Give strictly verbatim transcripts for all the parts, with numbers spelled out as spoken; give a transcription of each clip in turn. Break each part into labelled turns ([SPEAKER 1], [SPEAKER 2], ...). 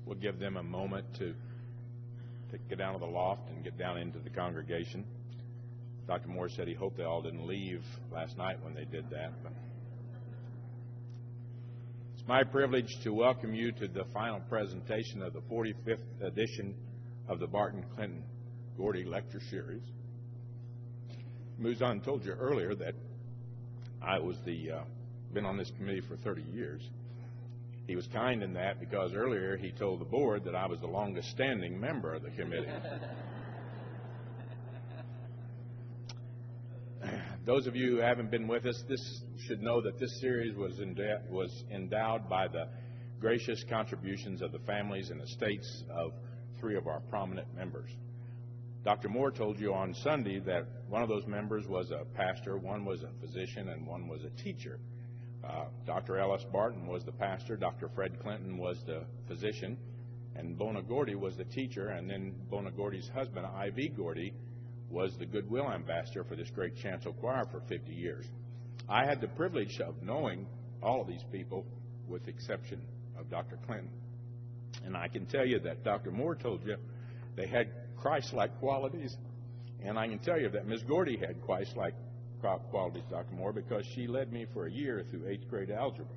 [SPEAKER 1] we'll give them a moment to, to get down to the loft and get down into the congregation. Doctor Moore said he hoped they all didn't leave last night when they did that. But it's my privilege to welcome you to the final presentation of the forty-fifth edition of the Barton Clinton Gordy Lecture Series. Muzan told you earlier that I was the uh, been on this committee for thirty years. He was kind in that because earlier he told the board that I was the longest standing member of the committee. Those of you who haven't been with us, this should know that this series was, enda- was endowed by the gracious contributions of the families and estates of three of our prominent members. Doctor Moore told you on Sunday that one of those members was a pastor, one was a physician, and one was a teacher. Uh, Doctor Ellis Barton was the pastor, Doctor Fred Clinton was the physician, and Bona Gordy was the teacher, and then Bona Gordy's husband, I V Gordy, was the goodwill ambassador for this great chancel choir for fifty years. I had the privilege of knowing all of these people with the exception of Doctor Clinton. And I can tell you that Doctor Moore told you they had Christ-like qualities, and I can tell you that Miz Gordy had Christ-like qualities, Doctor Moore, because she led me for a year through eighth grade algebra.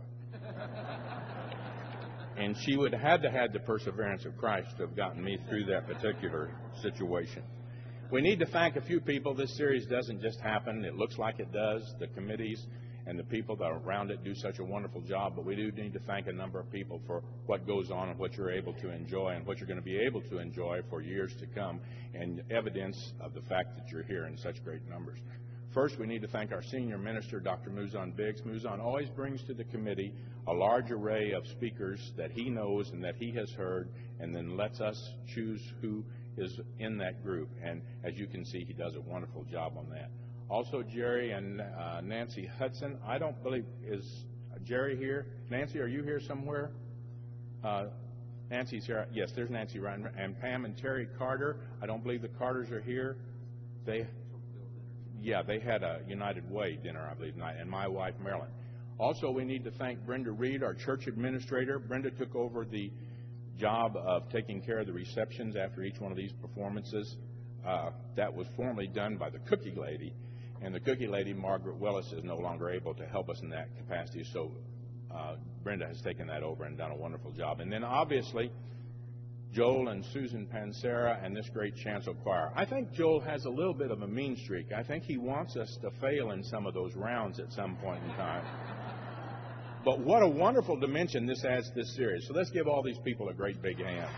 [SPEAKER 1] And she would have had to have the perseverance of Christ to have gotten me through that particular situation. We need to thank a few people. This series doesn't just happen. It looks like it does. The committees and the people that are around it do such a wonderful job, but we do need to thank a number of people for what goes on and what you're able to enjoy and what you're going to be able to enjoy for years to come, and evidence of the fact that you're here in such great numbers. First, we need to thank our senior minister, Doctor Muzan Biggs. Muzan always brings to the committee a large array of speakers that he knows and that he has heard, and then lets us choose who is in that group. And as you can see, he does a wonderful job on that. Also, Jerry and uh, Nancy Hudson. I don't believe, is Jerry here? Nancy, are you here somewhere? Uh, Nancy's here. Yes, there's Nancy Ryan. And Pam and Terry Carter. I don't believe the Carters are here. They, yeah, they had a United Way dinner, I believe, tonight, and my wife, Marilyn. Also, we need to thank Brenda Reed, our church administrator. Brenda took over the job of taking care of the receptions after each one of these performances. Uh, that was formerly done by the cookie lady, and the cookie lady, Margaret Willis, is no longer able to help us in that capacity, so uh, Brenda has taken that over and done a wonderful job. And then obviously Joel and Susan Pansera and this great chancel choir. I think Joel has a little bit of a mean streak. I think he wants us to fail in some of those rounds at some point in time. But what a wonderful dimension this adds to this series. So let's give all these people a great big hand.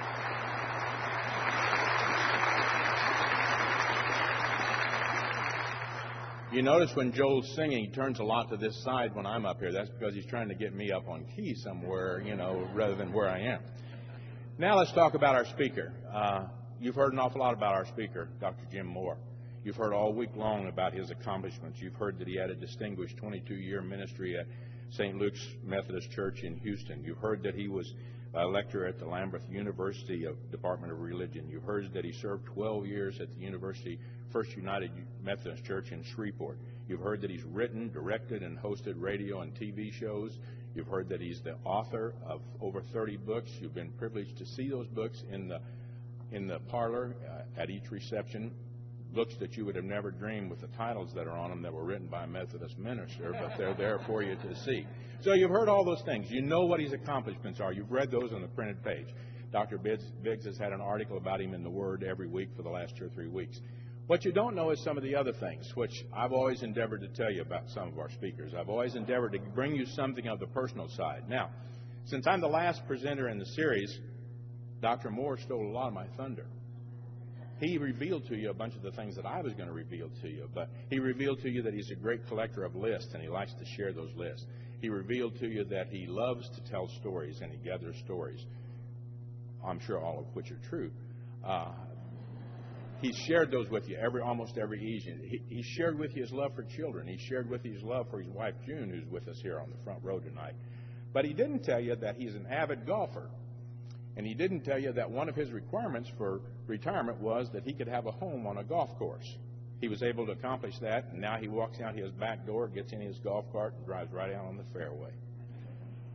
[SPEAKER 1] You notice when Joel's singing, he turns a lot to this side when I'm up here. That's because he's trying to get me up on key somewhere, you know, rather than where I am. Now let's talk about our speaker. Uh, you've heard an awful lot about our speaker, Doctor Jim Moore. You've heard all week long about his accomplishments. You've heard that he had a distinguished twenty-two year ministry at Saint Luke's Methodist Church in Houston. You've heard that he was a lecturer at the Lambeth University of Department of Religion. You've heard that he served twelve years at the University First United Methodist Church in Shreveport. You've heard that he's written, directed, and hosted radio and T V shows. You've heard that he's the author of over thirty books. You've been privileged to see those books in the in the parlor uh, at each reception. Books that you would have never dreamed with the titles that are on them that were written by a Methodist minister, but they're there for you to see. So you've heard all those things. You know what his accomplishments are. You've read those on the printed page. Doctor Biggs, Biggs has had an article about him in the Word every week for the last two or three weeks. What you don't know is some of the other things, which I've always endeavored to tell you about some of our speakers. I've always endeavored to bring you something of the personal side. Now, since I'm the last presenter in the series, Doctor Moore stole a lot of my thunder. He revealed to you a bunch of the things that I was going to reveal to you, but he revealed to you that he's a great collector of lists, and he likes to share those lists. He revealed to you that he loves to tell stories, and he gathers stories, I'm sure all of which are true. Uh, he shared those with you every, almost every evening. He, he shared with you his love for children. He shared with you his love for his wife, June, who's with us here on the front row tonight. But he didn't tell you that he's an avid golfer. And he didn't tell you that one of his requirements for retirement was that he could have a home on a golf course. He was able to accomplish that, and now he walks out his back door, gets in his golf cart, and drives right out on the fairway.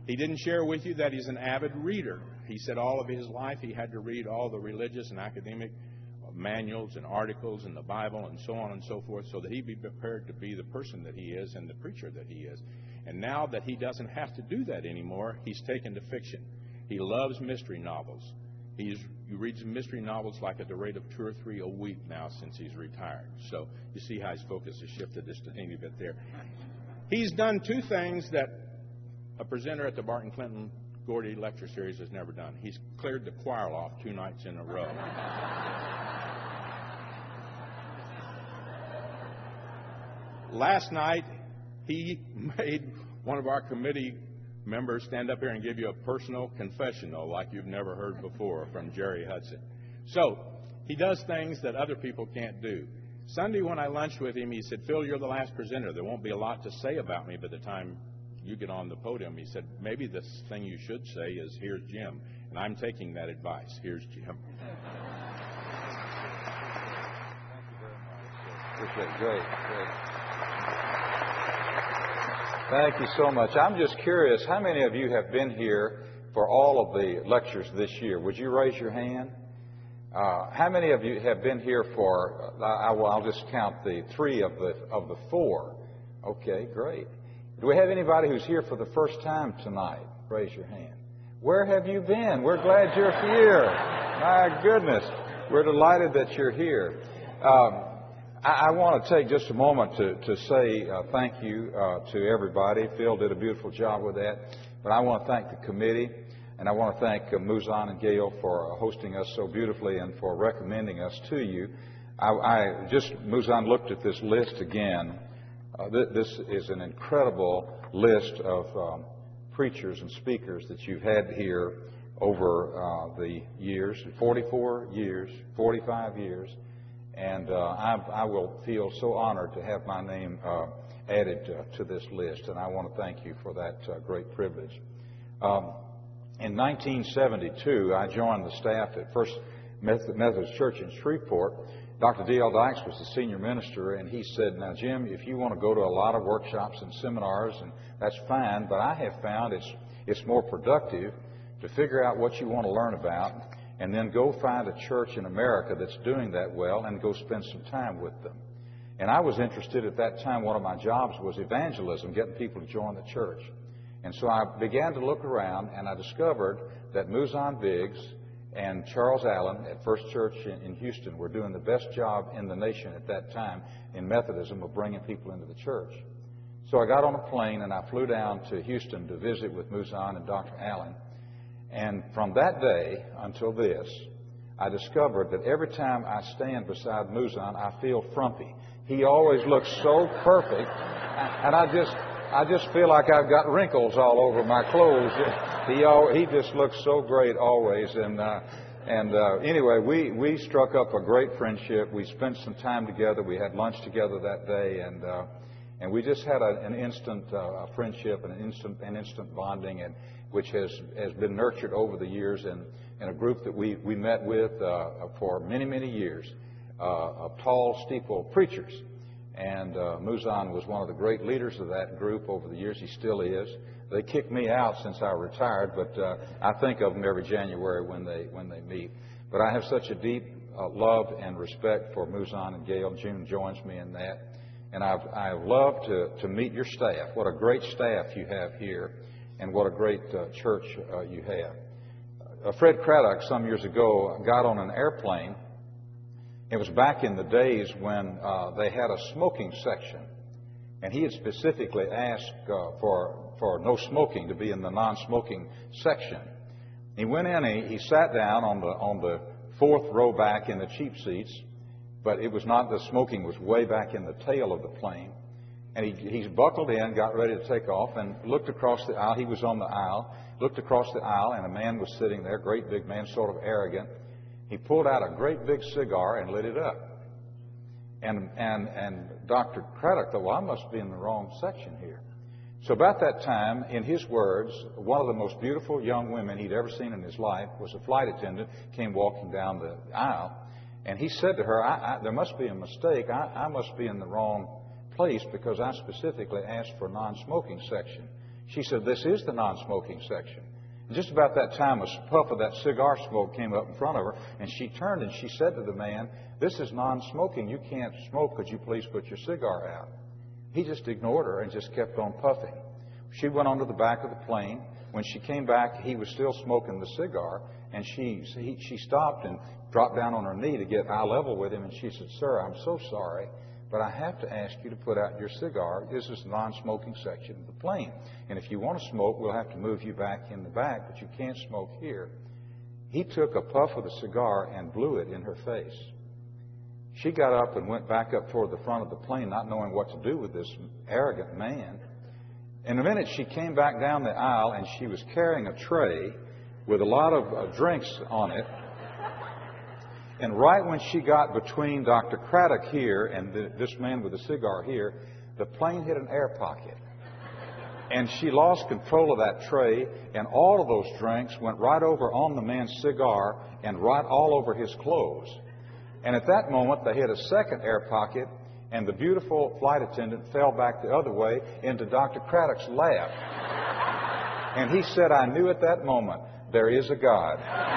[SPEAKER 1] He didn't share with you that he's an avid reader. He said all of his life he had to read all the religious and academic manuals and articles in the Bible and so on and so forth so that he'd be prepared to be the person that he is and the preacher that he is. And now that he doesn't have to do that anymore, he's taken to fiction. He loves mystery novels. He's, he reads mystery novels like at the rate of two or three a week now since he's retired. So you see how his focus has shifted just a teeny bit there. He's done two things that a presenter at the Barton Clinton Gordy Lecture Series has never done. He's cleared the choir off two nights in a row. Last night, he made one of our committee members stand up here and give you a personal confessional like you've never heard before from Jerry Hudson. So, he does things that other people can't do. Sunday when I lunched with him, he said, Phil, you're the last presenter. There won't be a lot to say about me by the time you get on the podium. He said, maybe the thing you should say is, here's Jim. And I'm taking that advice. Here's Jim.
[SPEAKER 2] Thank you very much. Appreciate it. Great, great. Thank you so much. I'm just curious, how many of you have been here for all of the lectures this year? Would you raise your hand? Uh, how many of you have been here for, uh, I, well, I'll just count the three of the of the four. Okay, great. Do we have anybody who's here for the first time tonight? Raise your hand. Where have you been? We're glad you're here. My goodness. We're delighted that you're here. Um, I, I want to take just a moment to, to say uh, thank you uh, to everybody. Phil did a beautiful job with that. But I want to thank the committee, and I want to thank uh, Muzan and Gail for uh, hosting us so beautifully and for recommending us to you. I, I just, Muzan looked at this list again. Uh, th- this is an incredible list of um, preachers and speakers that you've had here over uh, the years, forty-four years, forty-five years. And uh, I, I will feel so honored to have my name uh, added uh, to this list. And I want to thank you for that uh, great privilege. Um, in nineteen seventy-two, I joined the staff at First Methodist Church in Shreveport. Doctor D L Dykes was the senior minister, and he said, now, Jim, if you want to go to a lot of workshops and seminars, and that's fine, but I have found it's, it's more productive to figure out what you want to learn about and then go find a church in America that's doing that well and go spend some time with them. And I was interested at that time, one of my jobs was evangelism, getting people to join the church. And so I began to look around, and I discovered that Muzan Biggs and Charles Allen at First Church in Houston were doing the best job in the nation at that time in Methodism of bringing people into the church. So I got on a plane and I flew down to Houston to visit with Muzan and Doctor Allen. And from that day until this, I discovered that every time I stand beside Muzan, I feel frumpy. He always looks so perfect, and I just I just feel like I've got wrinkles all over my clothes. He all, he just looks so great always. And uh, and uh, anyway, we, we struck up a great friendship. We spent some time together. We had lunch together that day, and uh, and we just had a, an instant uh, friendship and an instant an instant bonding, and which has has been nurtured over the years in, in a group that we we met with uh, for many many years uh, of tall steeple preachers. And uh, Muzan was one of the great leaders of that group over the years. He still is. They kicked me out since I retired, but uh, I think of them every January when they when they meet. But I have such a deep uh, love and respect for Muzan and Gail. June joins me in that. And I've I've loved to, to meet your staff. What a great staff you have here, and what a great uh, church uh, you have. Uh, Fred Craddock, some years ago, got on an airplane. It was back in the days when uh, they had a smoking section, and he had specifically asked uh, for for no smoking to be in the non-smoking section. He went in and he, he sat down on the on the fourth row back in the cheap seats, but it was not, the smoking was way back in the tail of the plane. And he he's buckled in, got ready to take off, and looked across the aisle. He was on the aisle, looked across the aisle, and a man was sitting there, great big man, sort of arrogant. He pulled out a great big cigar and lit it up. And and and Doctor Craddock thought, well, I must be in the wrong section here. So about that time, in his words, one of the most beautiful young women he'd ever seen in his life was a flight attendant, came walking down the aisle, and he said to her, I, I, there must be a mistake. I, I must be in the wrong place because I specifically asked for a non-smoking section. She said, this is the non-smoking section. And just about that time, a puff of that cigar smoke came up in front of her, and she turned and she said to the man, this is non-smoking. You can't smoke. Could you please put your cigar out? He just ignored her and just kept on puffing. She went on to the back of the plane. When she came back, he was still smoking the cigar, and she he, she stopped and dropped down on her knee to get eye level with him, and she said, sir, I'm so sorry, but I have to ask you to put out your cigar. This is the non-smoking section of the plane. And if you want to smoke, we'll have to move you back in the back, but you can't smoke here. He took a puff of the cigar and blew it in her face. She got up and went back up toward the front of the plane, not knowing what to do with this arrogant man. In a minute, she came back down the aisle, and she was carrying a tray with a lot of uh, drinks on it. And right when she got between Doctor Craddock here and the, this man with the cigar here, the plane hit an air pocket. And she lost control of that tray, and all of those drinks went right over on the man's cigar and right all over his clothes. And at that moment, they hit a second air pocket, and the beautiful flight attendant fell back the other way into Doctor Craddock's lap. And he said, I knew at that moment, there is a God.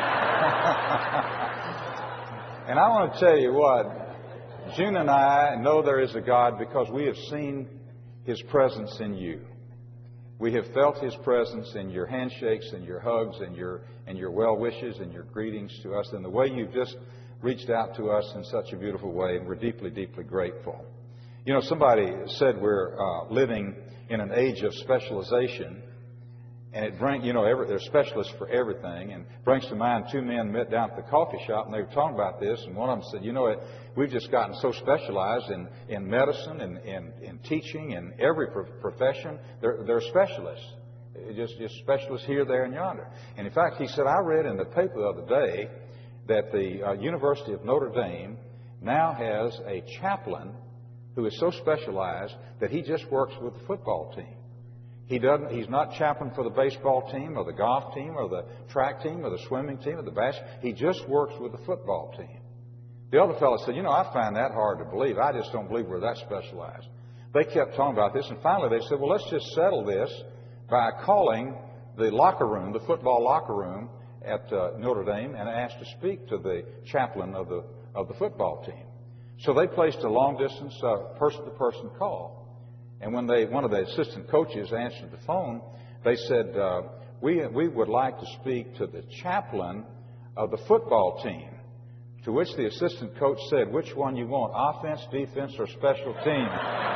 [SPEAKER 2] And I want to tell you what, June and I know there is a God because we have seen His presence in you. We have felt His presence in your handshakes and your hugs and your and your well wishes and your greetings to us, and the way you've just reached out to us in such a beautiful way, and we're deeply, deeply grateful. You know, somebody said we're uh, living in an age of specialization, and it brings, you know, every, there's specialists for everything, and brings to mind two men met down at the coffee shop, and they were talking about this, and one of them said, you know, we've just gotten so specialized in, in medicine and in, in teaching and every pro- profession. They're, they're specialists, just, just specialists here, there, and yonder. And in fact, he said, I read in the paper the other day that the uh, University of Notre Dame now has a chaplain who is so specialized that he just works with the football team. He doesn't. He's not chaplain for the baseball team or the golf team or the track team or the swimming team or the basketball. He just works with the football team. The other fellow said, you know, I find that hard to believe. I just don't believe we're that specialized. They kept talking about this, and finally they said, well, let's just settle this by calling the locker room, the football locker room at uh, Notre Dame, and asked to speak to the chaplain of the of the football team. So they placed a long-distance uh, person-to-person call. And when they, one of the assistant coaches answered the phone, they said, uh, we, we would like to speak to the chaplain of the football team. To which the assistant coach said, which one you want, offense, defense, or special team?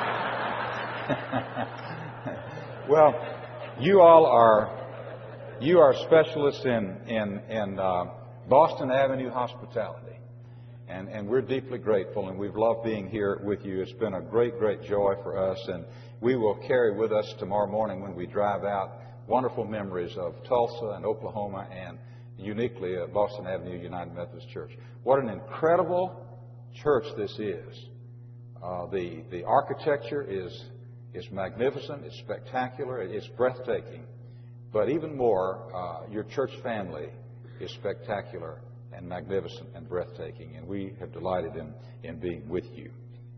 [SPEAKER 2] Well, you all are, you are specialists in, in, in uh, Boston Avenue hospitality. And, and we're deeply grateful, and we've loved being here with you. It's been a great, great joy for us, and we will carry with us tomorrow morning when we drive out wonderful memories of Tulsa and Oklahoma and uniquely uh, Boston Avenue United Methodist Church. What an incredible church this is. Uh, the, the architecture is, is magnificent, it's spectacular, it's breathtaking. But even more, uh, your church family is spectacular and magnificent and breathtaking, and we have delighted in, in being with you.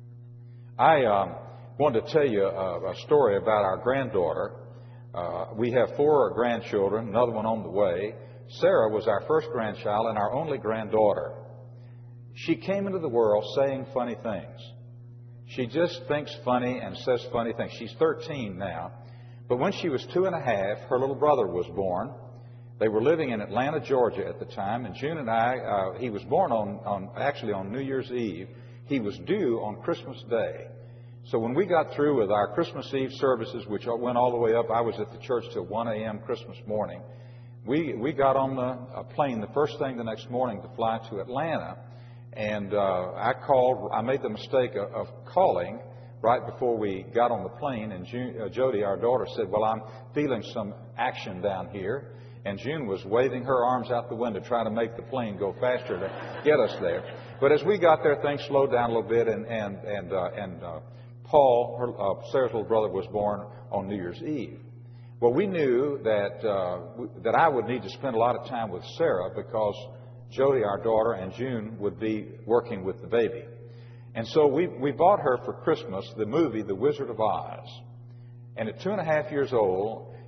[SPEAKER 2] I um, wanted to tell you a, a story about our granddaughter. Uh, we have four grandchildren, another one on the way. Sarah was our first grandchild and our only granddaughter. She came into the world saying funny things. She just thinks funny and says funny things. She's thirteen now. But when she was two and a half, her little brother was born. They were living in Atlanta, Georgia at the time, and June and I, uh, he was born on, on, actually on New Year's Eve. He was due on Christmas Day. So when we got through with our Christmas Eve services, which went all the way up, I was at the church till one a.m. Christmas morning. We, we got on the a plane the first thing the next morning to fly to Atlanta, and uh, I called, I made the mistake of, of calling right before we got on the plane, and June, uh, Jody, our daughter, said, well, I'm feeling some action down here. And June was waving her arms out the window trying to make the plane go faster to get us there. But as we got there, things slowed down a little bit, and and and uh, and uh, Paul, her, uh, Sarah's little brother, was born on New Year's Eve. Well, we knew that uh, w- that I would need to spend a lot of time with Sarah because Jody, our daughter, and June would be working with the baby. And so we we bought her for Christmas the movie The Wizard of Oz. And at two and a half years old,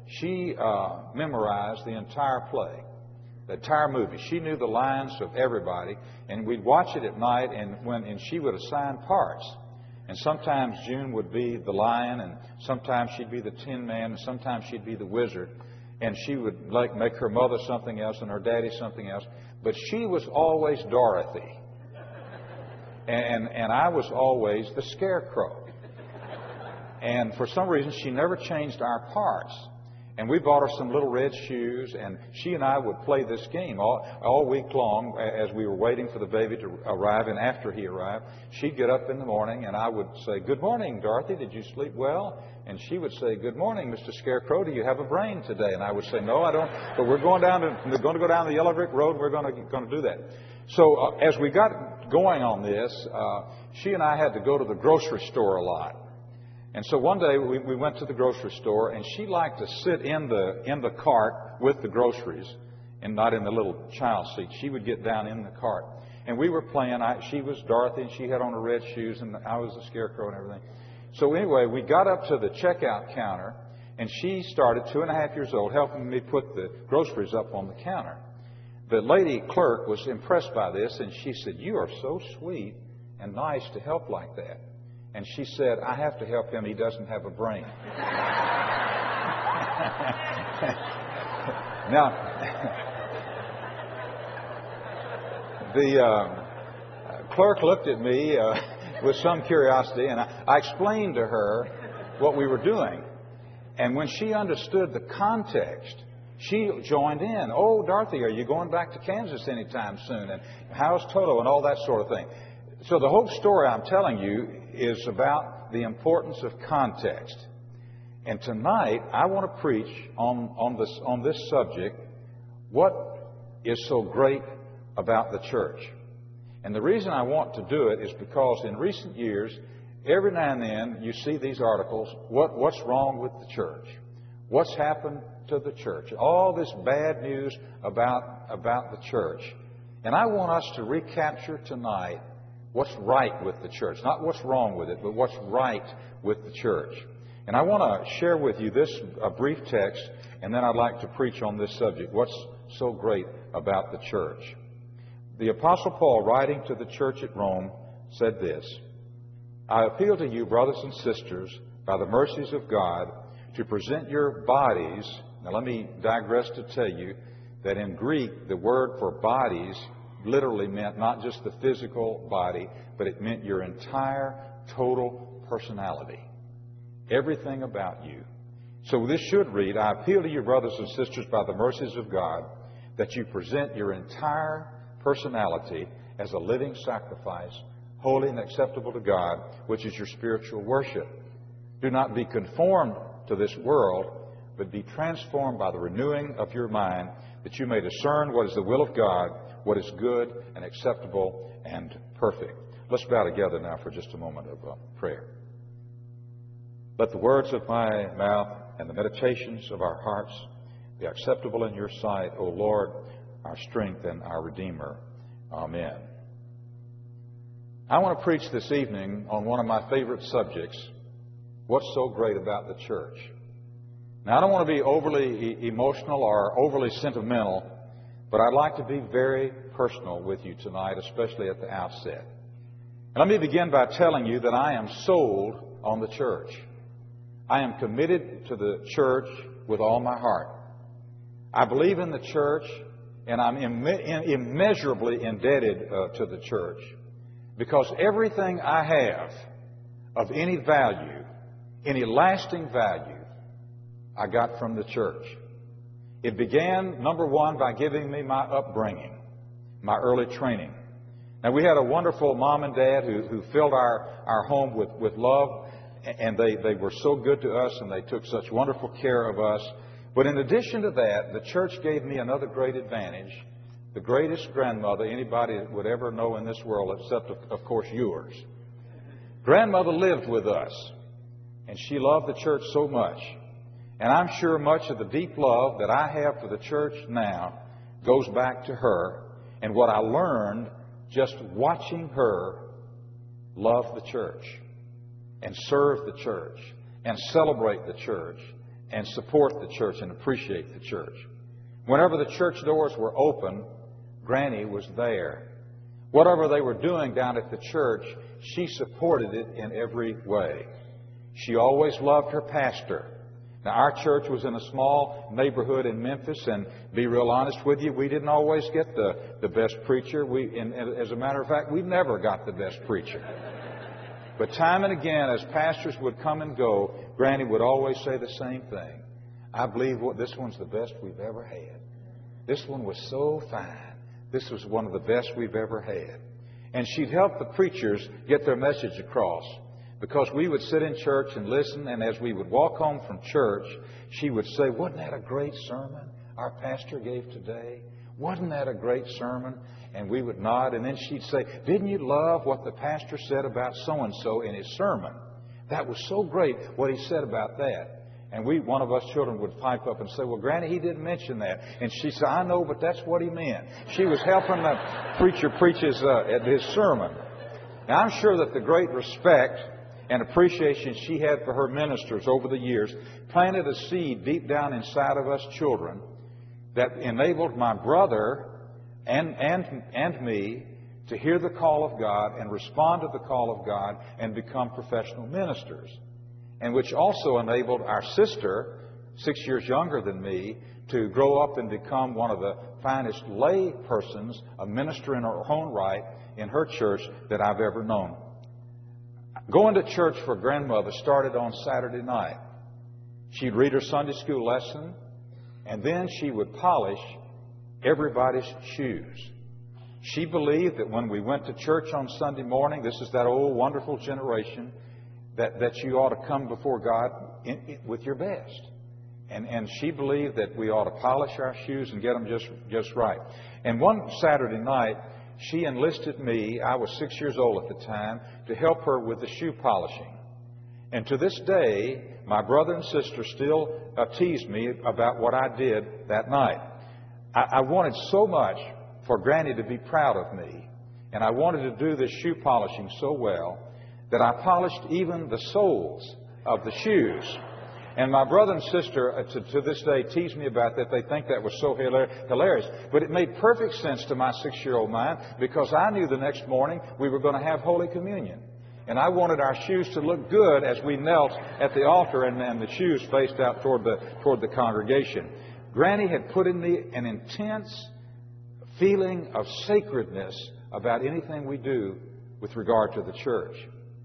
[SPEAKER 2] she uh, memorized the entire play, the entire movie. She knew the lines of everybody, and we'd watch it at night, and when and she would assign parts. And sometimes June would be the lion, and sometimes she'd be the Tin Man, and sometimes she'd be the wizard. And she would like make her mother something else and her daddy something else. But she was always Dorothy. And, and I was always the Scarecrow. And for some reason, she never changed our parts. And we bought her some little red shoes, and she and I would play this game all, all week long as we were waiting for the baby to arrive. And after he arrived, she'd get up in the morning, and I would say, "Good morning, Dorothy. Did you sleep well?" And she would say, "Good morning, Mister Scarecrow. Do you have a brain today?" And I would say, "No, I don't. But we're going down to we're going to go down the yellow brick road. And we're going to going to do that." So uh, as we got going on this, uh, she and I had to go to the grocery store a lot. And so one day we, we went to the grocery store, and she liked to sit in the in the cart with the groceries, and not in the little child seat. She would get down in the cart, and we were playing. I, she was Dorothy, and she had on her red shoes, and I was the Scarecrow and everything. So anyway, we got up to the checkout counter, and she started, two and a half years old, helping me put the groceries up on the counter. The lady clerk was impressed by this, and she said, "You are so sweet and nice to help like that." And she said, "I have to help him. He doesn't have a brain." Now, the uh, clerk looked at me uh, with some curiosity, and I, I explained to her what we were doing. And when she understood the context, she joined in. "Oh, Dorothy, are you going back to Kansas anytime soon? And how's Toto?" and all that sort of thing. So the whole story I'm telling you is about the importance of context. And tonight, I want to preach on, on, this, on this subject, what is so great about the church. And the reason I want to do it is because in recent years, every now and then you see these articles, what, what's wrong with the church? What's happened to the church? All this bad news about, about the church. And I want us to recapture tonight what's right with the church. Not what's wrong with it, but what's right with the church. And I want to share with you this a brief text, and then I'd like to preach on this subject. What's so great about the church? The Apostle Paul, writing to the church at Rome, said this: "I appeal to you, brothers and sisters, by the mercies of God, to present your bodies." Now let me digress to tell you that in Greek, the word for bodies literally meant not just the physical body, but it meant your entire, total personality. Everything about you. So this should read, "I appeal to you, brothers and sisters, by the mercies of God, that you present your entire personality as a living sacrifice, holy and acceptable to God, which is your spiritual worship. Do not be conformed to this world, but be transformed by the renewing of your mind, that you may discern what is the will of God, what is good and acceptable and perfect." Let's bow together now for just a moment of uh, prayer. Let the words of my mouth and the meditations of our hearts be acceptable in your sight, O Lord, our strength and our Redeemer. Amen. I want to preach this evening on one of my favorite subjects, what's so great about the church. Now, I don't want to be overly e- emotional or overly sentimental, but I'd like to be very personal with you tonight, especially at the outset. And let me begin by telling you that I am sold on the church. I am committed to the church with all my heart. I believe in the church, and I'm imme- immeasurably indebted uh, to the church, because everything I have of any value, any lasting value, I got from the church. It began, number one, by giving me my upbringing, my early training. Now, we had a wonderful mom and dad who, who filled our, our home with, with love, and they, they were so good to us, and they took such wonderful care of us. But in addition to that, the church gave me another great advantage, the greatest grandmother anybody would ever know in this world, except, of, of course, yours. Grandmother lived with us, and she loved the church so much. And I'm sure much of the deep love that I have for the church now goes back to her and what I learned just watching her love the church and serve the church and celebrate the church and support the church and appreciate the church. Whenever the church doors were open, Granny was there. Whatever they were doing down at the church, she supported it in every way. She always loved her pastor. Now, our church was in a small neighborhood in Memphis, and be real honest with you, we didn't always get the, the best preacher. We, and, and as a matter of fact, we never got the best preacher. But time and again, as pastors would come and go, Granny would always say the same thing. I believe what, this one's the best we've ever had. This one was so fine. This was one of the best we've ever had. And she'd help the preachers get their message across. Because we would sit in church and listen, and as we would walk home from church, she would say, wasn't that a great sermon our pastor gave today? Wasn't that a great sermon? And we would nod, and then she'd say, didn't you love what the pastor said about so-and-so in his sermon? That was so great what he said about that. And we, one of us children would pipe up and say, well, Granny, he didn't mention that. And she said, I know, but that's what he meant. She was helping the preacher preach his, uh, his sermon. Now, I'm sure that the great respect and appreciation she had for her ministers over the years planted a seed deep down inside of us children that enabled my brother and, and, and me to hear the call of God and respond to the call of God and become professional ministers. And which also enabled our sister, six years younger than me, to grow up and become one of the finest lay persons, a minister in her own right in her church that I've ever known. Going to church for grandmother started on Saturday night. She'd read her Sunday school lesson, and then she would polish everybody's shoes. She believed that when we went to church on Sunday morning, this is that old wonderful generation, that, that you ought to come before God in, in, with your best. And, and she believed that we ought to polish our shoes and get them just, just right. And one Saturday night, she enlisted me, I was six years old at the time, to help her with the shoe polishing. And to this day, my brother and sister still uh, tease me about what I did that night. I, I wanted so much for Granny to be proud of me, and I wanted to do this shoe polishing so well that I polished even the soles of the shoes. And my brother and sister, uh, to, to this day, tease me about that. They think that was so hilarious. But it made perfect sense to my six-year-old mind because I knew the next morning we were going to have Holy Communion. And I wanted our shoes to look good as we knelt at the altar and, and the shoes faced out toward the, toward the congregation. Granny had put in me an intense feeling of sacredness about anything we do with regard to the church.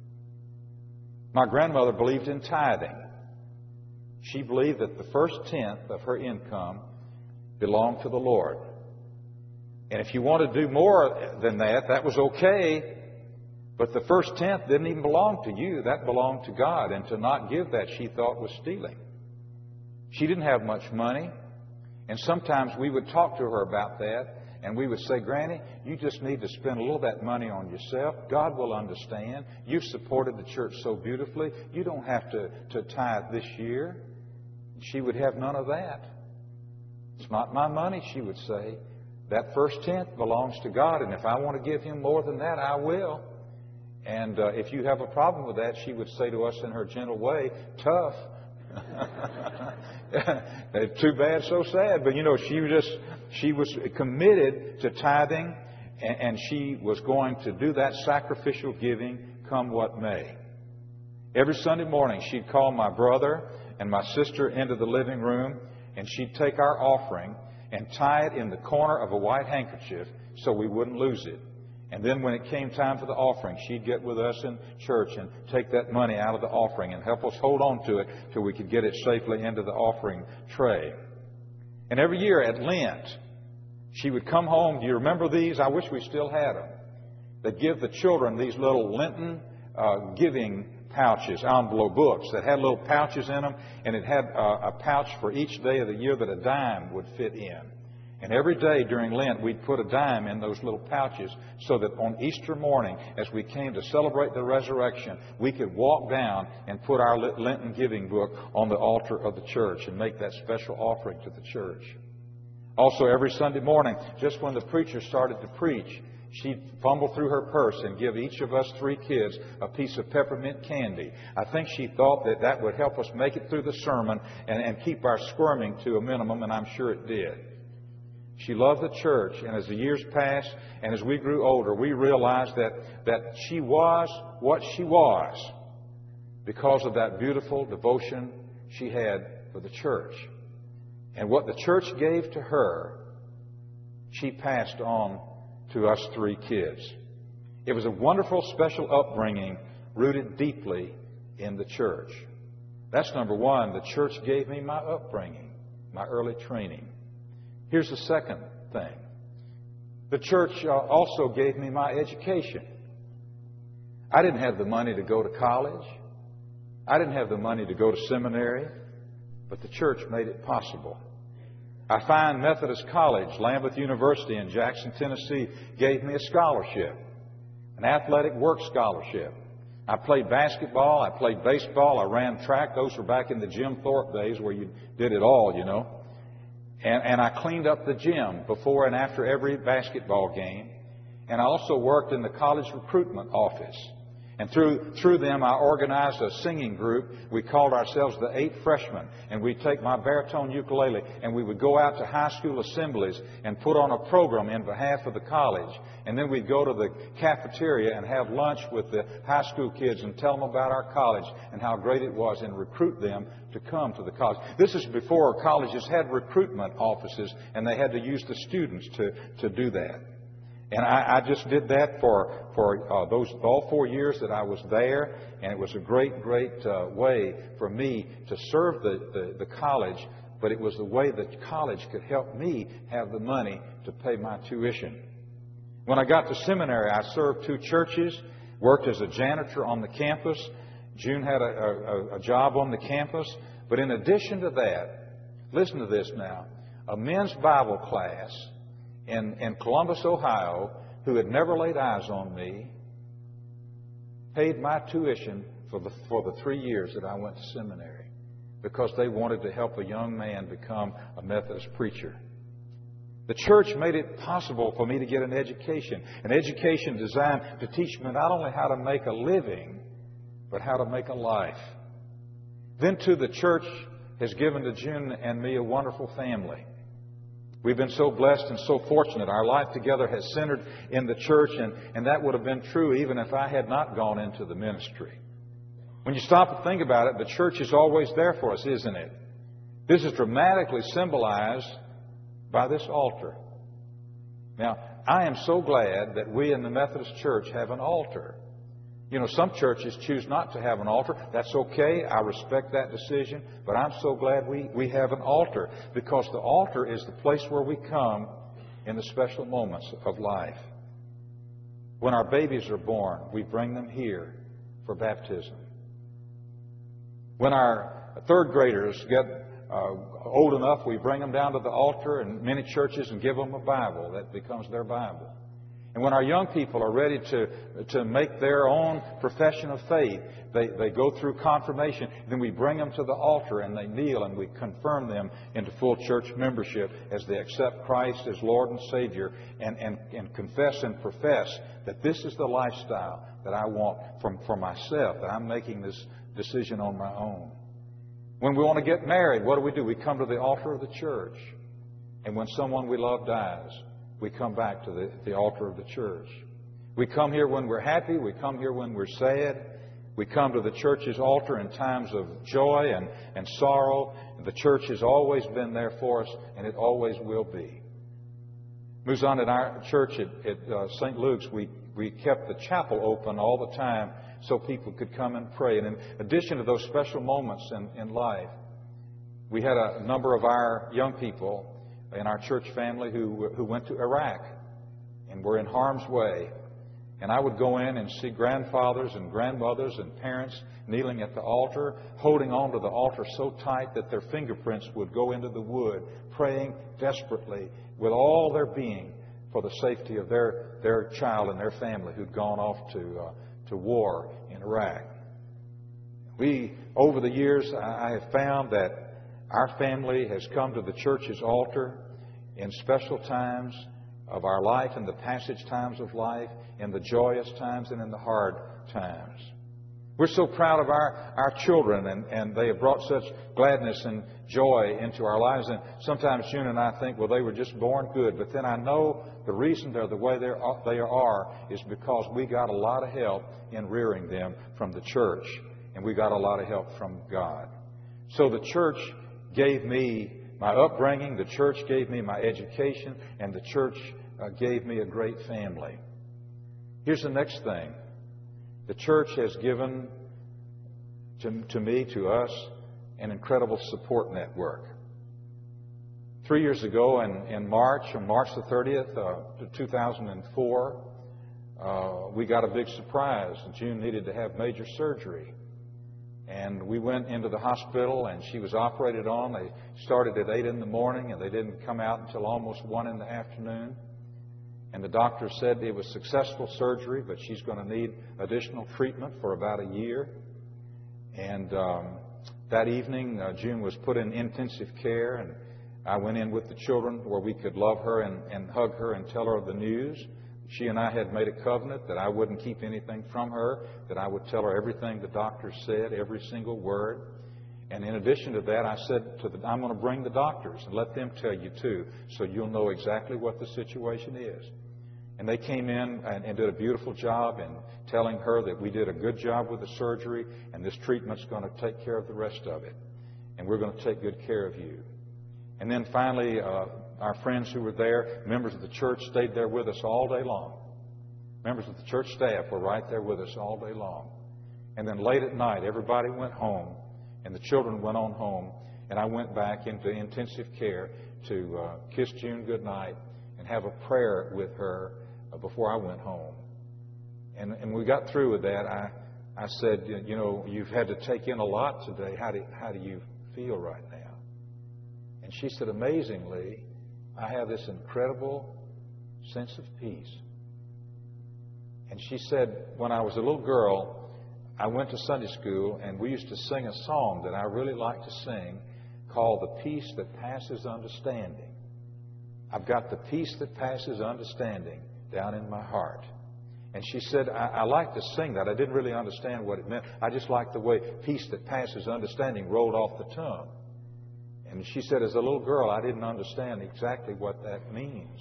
[SPEAKER 2] My grandmother believed in tithing. She believed that the first tenth of her income belonged to the Lord. And if you want to do more than that, that was okay. But the first tenth didn't even belong to you. That belonged to God. And to not give that, she thought, was stealing. She didn't have much money. And sometimes we would talk to her about that. And we would say, Granny, you just need to spend a little of that money on yourself. God will understand. You've supported the church so beautifully. You don't have to, to tithe this year. She would have none of that. It's not my money, she would say. That first tenth belongs to God, and if I want to give Him more than that, I will. And uh, if you have a problem with that, she would say to us in her gentle way, tough. Too bad, so sad. But you know, she was just she was committed to tithing, and, and she was going to do that sacrificial giving come what may. Every Sunday morning, she'd call my brother and my sister into the living room, and she'd take our offering and tie it in the corner of a white handkerchief so we wouldn't lose it. And then when it came time for the offering, she'd get with us in church and take that money out of the offering and help us hold on to it till we could get it safely into the offering tray. And every year at Lent, she would come home. Do you remember these? I wish we still had them. They'd give the children these little Lenten uh, giving pouches, envelope books that had little pouches in them, and it had uh, a pouch for each day of the year that a dime would fit in. And every day during Lent, we'd put a dime in those little pouches so that on Easter morning, as we came to celebrate the resurrection, we could walk down and put our Lenten giving book on the altar of the church and make that special offering to the church. Also, every Sunday morning, just when the preacher started to preach, she'd fumble through her purse and give each of us three kids a piece of peppermint candy. I think she thought that that would help us make it through the sermon and, and keep our squirming to a minimum, and I'm sure it did. She loved the church, and as the years passed and as we grew older, we realized that, that she was what she was because of that beautiful devotion she had for the church. And what the church gave to her, she passed on to us three kids. It was a wonderful, special upbringing rooted deeply in the church. That's number one. The church gave me my upbringing, my early training. Here's the second thing. The church uh, also gave me my education. I didn't have the money to go to college. I didn't have the money to go to seminary, but the church made it possible. I find Methodist College, Lambeth University in Jackson, Tennessee, gave me a scholarship, an athletic work scholarship. I played basketball, I played baseball, I ran track. Those were back in the Jim Thorpe days where you did it all, you know. And, and I cleaned up the gym before and after every basketball game. And I also worked in the college recruitment office. And through through them, I organized a singing group. We called ourselves the Eight Freshmen. And we'd take my baritone ukulele and we would go out to high school assemblies and put on a program in behalf of the college. And then we'd go to the cafeteria and have lunch with the high school kids and tell them about our college and how great it was and recruit them to come to the college. This is before colleges had recruitment offices and they had to use the students to, to do that. And I, I just did that for for uh, those all four years that I was there, and it was a great, great uh, way for me to serve the, the, the college. But it was the way that college could help me have the money to pay my tuition. When I got to seminary, I served two churches, worked as a janitor on the campus. June had a, a, a job on the campus. But in addition to that, listen to this now, a men's Bible class In, in Columbus, Ohio, who had never laid eyes on me, paid my tuition for the, for the three years that I went to seminary because they wanted to help a young man become a Methodist preacher. The church made it possible for me to get an education, an education designed to teach me not only how to make a living, but how to make a life. Then, too, the church has given to June and me a wonderful family. We've been so blessed and so fortunate. Our life together has centered in the church, and, and that would have been true even if I had not gone into the ministry. When you stop and think about it, the church is always there for us, isn't it? This is dramatically symbolized by this altar. Now, I am so glad that we in the Methodist Church have an altar. You know, some churches choose not to have an altar. That's okay. I respect that decision. But I'm so glad we, we have an altar, because the altar is the place where we come in the special moments of life. When our babies are born, we bring them here for baptism. When our third graders get uh, old enough, we bring them down to the altar in many churches and give them a Bible that becomes their Bible. And when our young people are ready to, to make their own profession of faith, they, they go through confirmation. Then we bring them to the altar and they kneel and we confirm them into full church membership as they accept Christ as Lord and Savior and, and, and confess and profess that this is the lifestyle that I want from, for myself, that I'm making this decision on my own. When we want to get married, what do we do? We come to the altar of the church. And when someone we love dies, we come back to the, the altar of the church. We come here when we're happy. We come here when we're sad. We come to the church's altar in times of joy and, and sorrow. And the church has always been there for us, and it always will be. Moves on at our church at, at uh, Saint Luke's, we, we kept the chapel open all the time so people could come and pray. And in addition to those special moments in, in life, we had a number of our young people in our church family who who went to Iraq and were in harm's way. And I would go in and see grandfathers and grandmothers and parents kneeling at the altar, holding on to the altar so tight that their fingerprints would go into the wood, praying desperately with all their being for the safety of their, their child and their family who'd gone off to, uh, to war in Iraq. We, over the years, I have found that our family has come to the church's altar in special times of our life, in the passage times of life, in the joyous times and in the hard times. We're so proud of our, our children, and, and they have brought such gladness and joy into our lives. And sometimes June and I think, well, they were just born good. But then I know the reason they're the way they're, they are is because we got a lot of help in rearing them from the church. And we got a lot of help from God. So the church gave me my upbringing, the church gave me my education, and the church uh, gave me a great family. Here's the next thing. The church has given to, to me, to us, an incredible support network. Three years ago in, in March, on March the thirtieth, uh, two thousand four, uh, we got a big surprise. June needed to have major surgery. And we went into the hospital, and she was operated on. They started at eight in the morning, and they didn't come out until almost one in the afternoon. And the doctor said it was successful surgery, but she's going to need additional treatment for about a year. And um, that evening, uh, June was put in intensive care, and I went in with the children where we could love her and, and hug her and tell her the news. She and I had made a covenant that I wouldn't keep anything from her, that I would tell her everything the doctor said, every single word. And in addition to that, I said to the, I'm going to bring the doctors and let them tell you too, so you'll know exactly what the situation is. And they came in and, and did a beautiful job in telling her that we did a good job with the surgery, and this treatment's going to take care of the rest of it. And we're going to take good care of you. And then finally, uh, our friends who were there, members of the church, stayed there with us all day long. Members of the church staff were right there with us all day long. And then late at night, everybody went home, and the children went on home, and I went back into intensive care to uh, kiss June goodnight and have a prayer with her uh, before I went home. And, and we got through with that. I, I said, you know, you've had to take in a lot today. How do, how do you feel right now? And she said, amazingly, I have this incredible sense of peace. And she said, when I was a little girl, I went to Sunday school, and we used to sing a song that I really like to sing called The Peace That Passes Understanding. I've got the peace that passes understanding down in my heart. And she said, I, I like to sing that. I didn't really understand what it meant. I just liked the way peace that passes understanding rolled off the tongue. And she said, as a little girl, I didn't understand exactly what that means.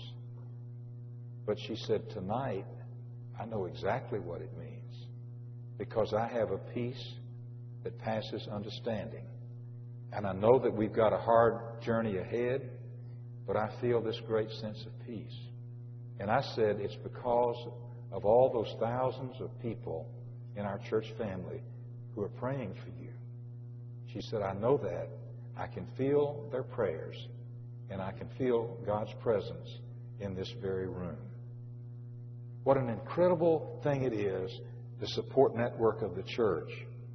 [SPEAKER 2] But she said, tonight, I know exactly what it means, because I have a peace that passes understanding. And I know that we've got a hard journey ahead, but I feel this great sense of peace. And I said, it's because of all those thousands of people in our church family who are praying for you. She said, I know that. I can feel their prayers, and I can feel God's presence in this very room. What an incredible thing it is, the support network of the church.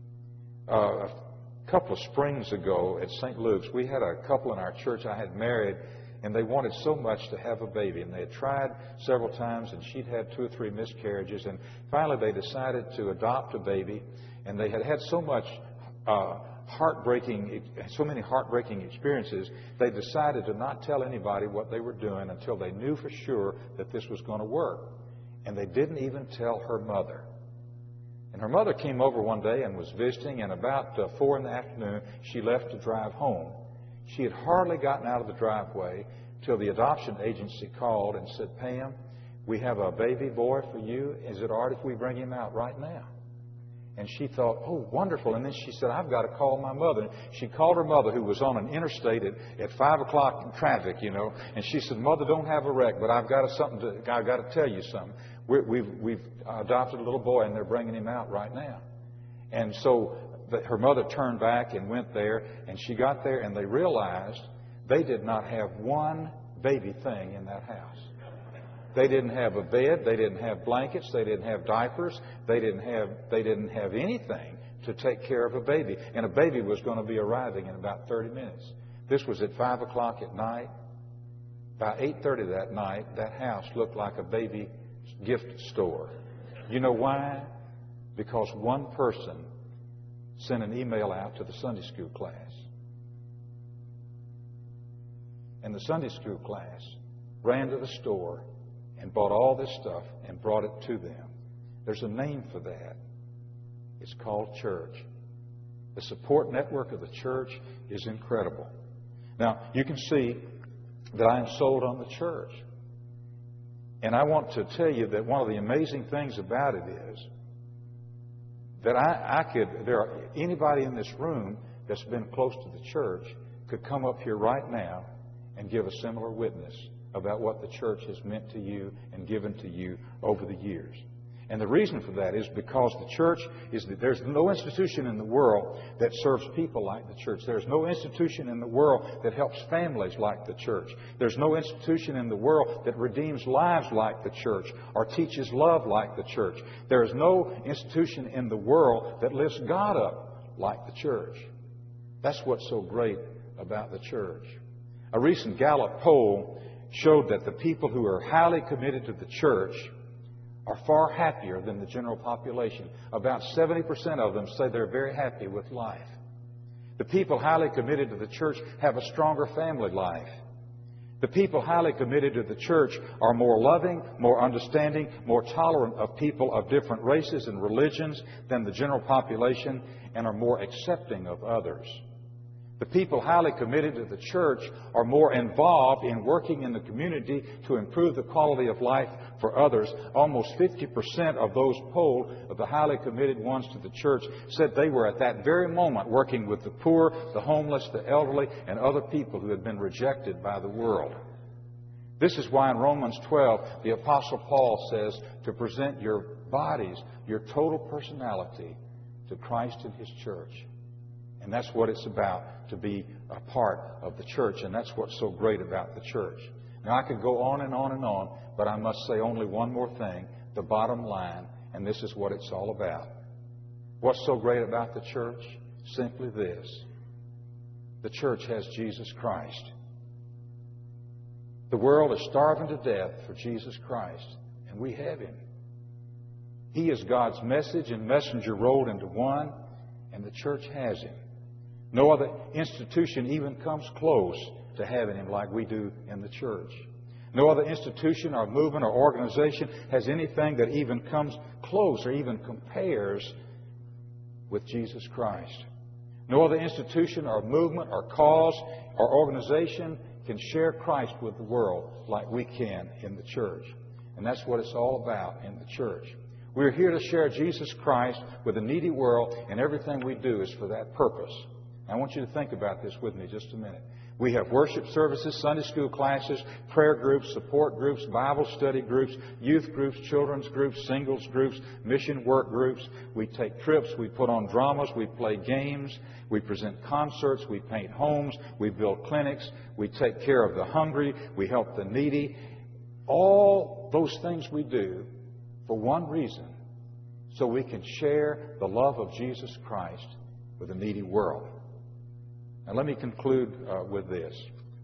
[SPEAKER 2] Uh, a couple of springs ago at Saint Luke's, we had a couple in our church I had married, and they wanted so much to have a baby. And they had tried several times, and she'd had two or three miscarriages. And finally they decided to adopt a baby, and they had had so much uh, heartbreaking, so many heartbreaking experiences, they decided to not tell anybody what they were doing until they knew for sure that this was going to work. And they didn't even tell her mother. And her mother came over one day and was visiting, and about uh, four in the afternoon, she left to drive home. She had hardly gotten out of the driveway till the adoption agency called and said, Pam, we have a baby boy for you. Is it all right if we bring him out right now? And she thought, oh, wonderful. And then she said, I've got to call my mother. She called her mother, who was on an interstate at, at five o'clock in traffic, you know. And she said, Mother, don't have a wreck, but I've got to, something to, I've got to tell you something. We're, we've, we've adopted a little boy, and they're bringing him out right now. And so the, her mother turned back and went there, and she got there, and they realized they did not have one baby thing in that house. They didn't have a bed. They didn't have blankets. They didn't have diapers. They didn't have, they didn't have anything to take care of a baby. And a baby was going to be arriving in about thirty minutes. This was at five o'clock at night. By eight thirty that night, that house looked like a baby gift store. You know why? Because one person sent an email out to the Sunday school class. And the Sunday school class ran to the store and bought all this stuff and brought it to them. There's a name for that. It's called church. The support network of the church is incredible. Now, you can see that I am sold on the church. And I want to tell you that one of the amazing things about it is that I, I could, there are anybody in this room that's been close to the church could come up here right now and give a similar witness about what the church has meant to you and given to you over the years. And the reason for that is because the church is that there's no institution in the world that serves people like the church. There's no institution in the world that helps families like the church. There's no institution in the world that redeems lives like the church or teaches love like the church. There is no institution in the world that lifts God up like the church. That's what's so great about the church. A recent Gallup poll showed that the people who are highly committed to the church are far happier than the general population. About seventy percent of them say they're very happy with life. The people highly committed to the church have a stronger family life. The people highly committed to the church are more loving, more understanding, more tolerant of people of different races and religions than the general population, and are more accepting of others. The people highly committed to the church are more involved in working in the community to improve the quality of life for others. Almost fifty percent of those polled, of the highly committed ones to the church, said they were at that very moment working with the poor, the homeless, the elderly, and other people who had been rejected by the world. This is why in Romans twelve, the Apostle Paul says to present your bodies, your total personality, to Christ and His church. And that's what it's about, to be a part of the church. And that's what's so great about the church. Now, I could go on and on and on, but I must say only one more thing, the bottom line, and this is what it's all about. What's so great about the church? Simply this. The church has Jesus Christ. The world is starving to death for Jesus Christ, and we have Him. He is God's message and messenger rolled into one, and the church has Him. No other institution even comes close to having Him like we do in the church. No other institution or movement or organization has anything that even comes close or even compares with Jesus Christ. No other institution or movement or cause or organization can share Christ with the world like we can in the church. And that's what it's all about in the church. We're here to share Jesus Christ with the needy world, and everything we do is for that purpose. I want you to think about this with me just a minute. We have worship services, Sunday school classes, prayer groups, support groups, Bible study groups, youth groups, children's groups, singles groups, mission work groups. We take trips, we put on dramas, we play games, we present concerts, we paint homes, we build clinics, we take care of the hungry, we help the needy. All those things we do for one reason, so we can share the love of Jesus Christ with the needy world. Now let me conclude uh, with this.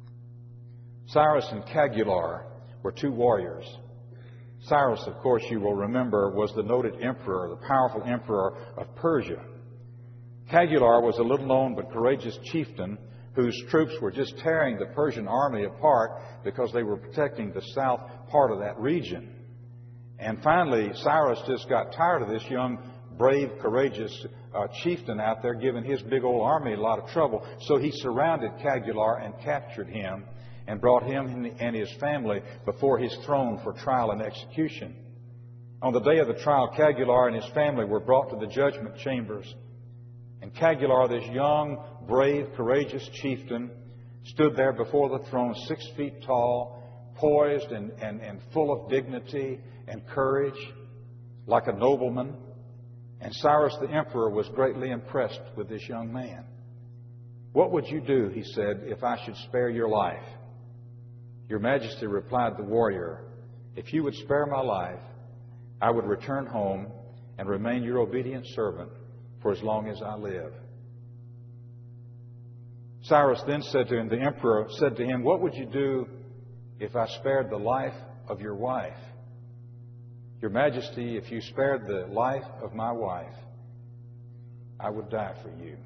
[SPEAKER 2] Cyrus and Cagular were two warriors. Cyrus, of course, you will remember, was the noted emperor, the powerful emperor of Persia. Cagular was a little-known but courageous chieftain whose troops were just tearing the Persian army apart because they were protecting the south part of that region. And finally, Cyrus just got tired of this young, brave, courageous uh, chieftain out there giving his big old army a lot of trouble. So he surrounded Cagular and captured him and brought him and his family before his throne for trial and execution. On the day of the trial, Cagular and his family were brought to the judgment chambers. And Cagular, this young, brave, courageous chieftain, stood there before the throne, six feet tall, poised and, and, and full of dignity and courage, like a nobleman. And Cyrus the emperor was greatly impressed with this young man. "What would you do," he said, "if I should spare your life?" "Your Majesty," replied the warrior, "if you would spare my life, I would return home and remain your obedient servant for as long as I live." Cyrus then said to him, the emperor said to him, "What would you do if I spared the life of your wife?" "Your Majesty, if you spared the life of my wife, I would die for you."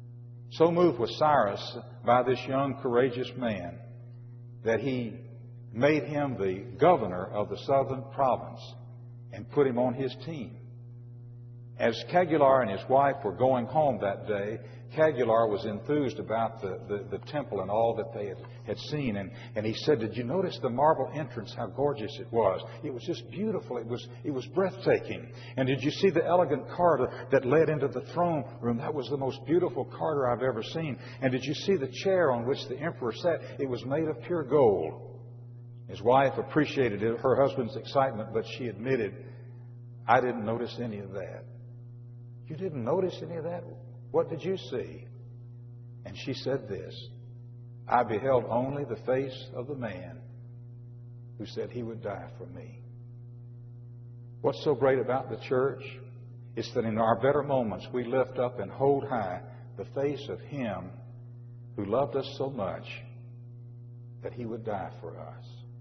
[SPEAKER 2] So moved was Cyrus by this young, courageous man that he made him the governor of the southern province and put him on his team. As Cagular and his wife were going home that day, Cagular was enthused about the, the, the temple and all that they had, had seen. And, and he said, "Did you notice the marble entrance, how gorgeous it was? It was just beautiful. It was, it was breathtaking. And did you see the elegant corridor that led into the throne room? That was the most beautiful corridor I've ever seen. And did you see the chair on which the emperor sat? It was made of pure gold." His wife appreciated it, her husband's excitement, but she admitted, "I didn't notice any of that." "You didn't notice any of that? What did you see?" And she said this, "I beheld only the face of the man who said he would die for me." What's so great about the church is that in our better moments we lift up and hold high the face of Him who loved us so much that He would die for us.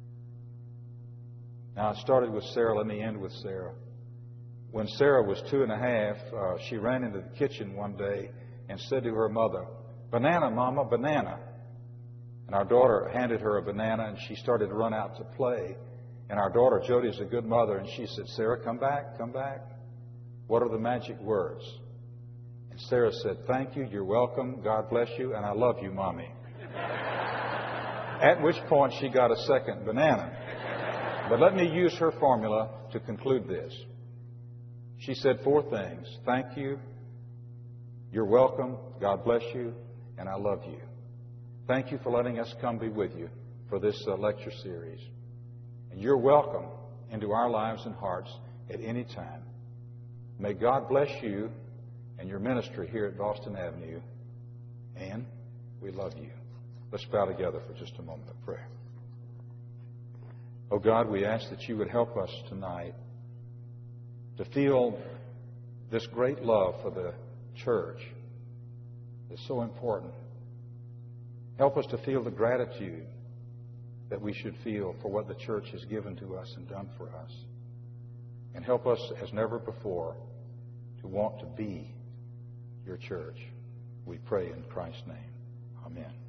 [SPEAKER 2] Now, it started with Sarah. Let me end with Sarah. When Sarah was two and a half, uh, she ran into the kitchen one day and said to her mother, "Banana, Mama, banana." And our daughter handed her a banana, and she started to run out to play. And our daughter, Jody, is a good mother, and she said, "Sarah, come back, come back. What are the magic words?" And Sarah said, "Thank you, you're welcome, God bless you, and I love you, Mommy." At which point she got a second banana. But let me use her formula to conclude this. She said four things: thank you, you're welcome, God bless you, and I love you. Thank you for letting us come be with you for this uh, lecture series. And you're welcome into our lives and hearts at any time. May God bless you and your ministry here at Boston Avenue. And we love you. Let's bow together for just a moment of prayer. Oh God, we ask that you would help us tonight to feel this great love for the church that's so important. Help us to feel the gratitude that we should feel for what the church has given to us and done for us. And help us as never before to want to be your church. We pray in Christ's name. Amen.